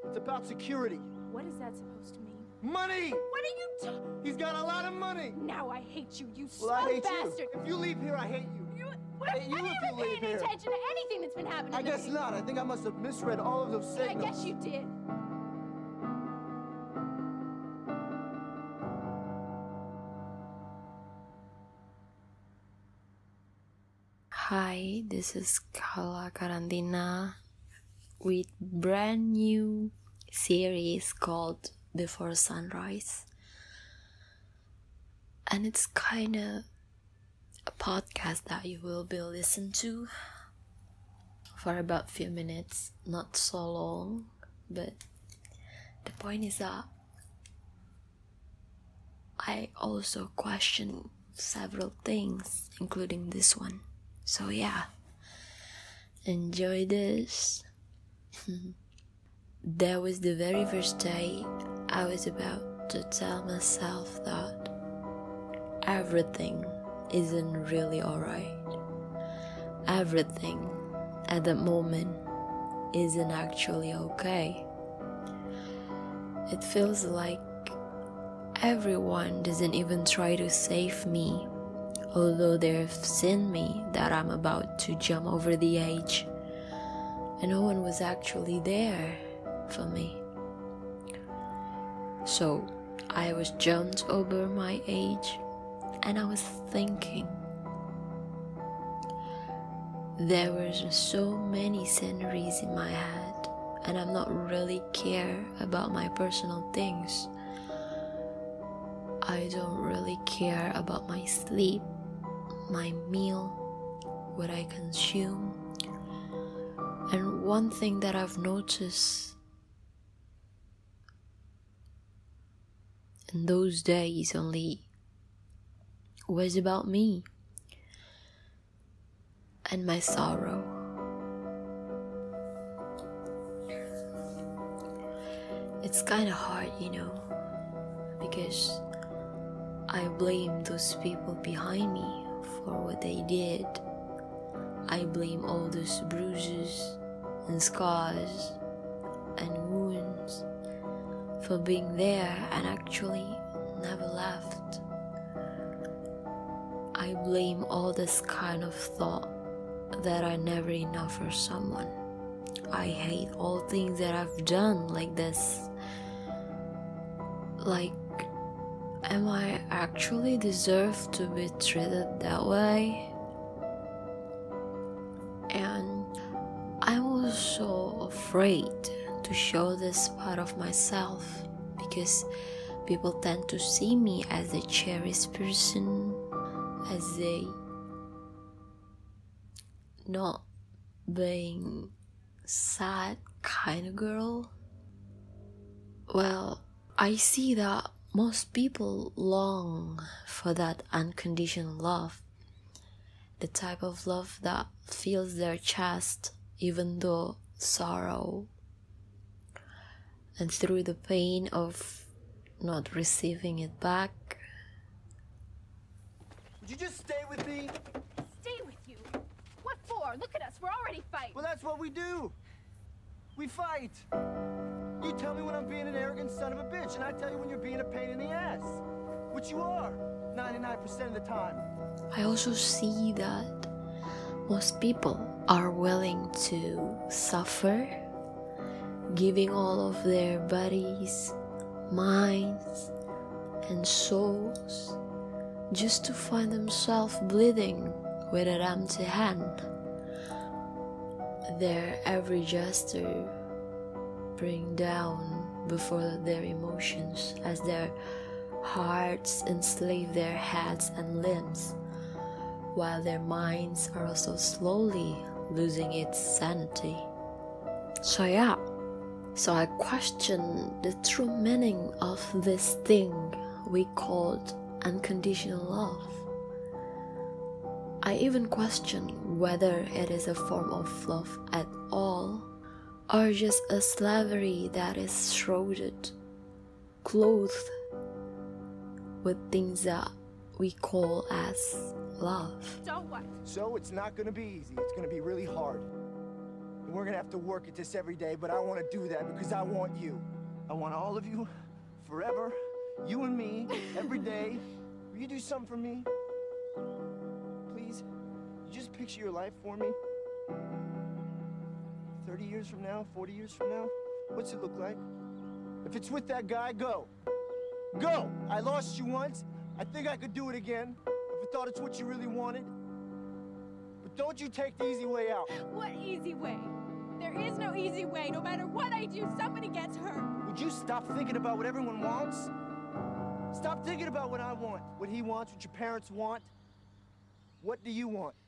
It's about security. What is that supposed to mean? Money! What are you talking? He's got a lot of money. Now I hate you, you Well, I slow hate bastard. you. If you leave here, I hate you. What, I hate you have you if ever you leave paid here. attention to anything that's been happening I to guess me? not. I think I must have misread all of those I signals. guess you did. Hi, this is Kala Karantina with brand new series called Before Sunrise. And it's kind of a podcast that you will be listening to for about few minutes, not so long, but the point is that I also question several things, including this one. So yeah, enjoy this. That was the very first day I was about to tell myself that everything isn't really alright. Everything at that moment isn't actually okay. It feels like everyone doesn't even try to save me, although they've seen me that I'm about to jump over the edge, and no one was actually there for me. So I was jumped over my age, and I was thinking there were so many sceneries in my head, and I'm not really care about my personal things. I don't really care about my sleep, my meal, what I consume. And one thing that I've noticed in those days only was about me and my sorrow. It's kind of hard, because I blame those people behind me for what they did. I blame all those bruises and scars and wounds for being there and actually never left. I blame all this kind of thought that are never enough for someone. I hate all things that I've done like this. Like, am I actually deserve to be treated that way? And I'm also afraid to show this part of myself because people tend to see me as a cherished person, as a not being sad kind of girl. Well, I see that most people long for that unconditional love, the type of love that fills their chest even though sorrow, and through the pain of not receiving it back. Would you just stay with me? Stay with you. What for? Look at us. We're already fighting. Well, that's what we do. We fight. You tell me when I'm being an arrogant son of a bitch, and I tell you when you're being a pain in the ass. Which you are, 99% of the time. I also see that most people are willing to suffer, giving all of their bodies, minds, and souls just to find themselves bleeding with an empty hand. Their every gesture bring down before their emotions as their hearts enslave their heads and limbs, while their minds are also slowly losing its sanity. So I question the true meaning of this thing we called unconditional love. I even question whether it is a form of love at all, or just a slavery that is shrouded, clothed with things that we call as love. So what? So it's not gonna be easy. It's gonna be really hard. And we're gonna have to work at this every day, but I want to do that because I want you. I want all of you, forever, you and me, every day. Will you do something for me? Please? You just picture your life for me? 30 years from now, 40 years from now? What's it look like? If it's with that guy, go. Go! I lost you once. I think I could do it again. If I thought it's what you really wanted. But don't you take the easy way out. What easy way? There is no easy way. No matter what I do, somebody gets hurt. Would you stop thinking about what everyone wants? Stop thinking about what I want, what he wants, what your parents want. What do you want?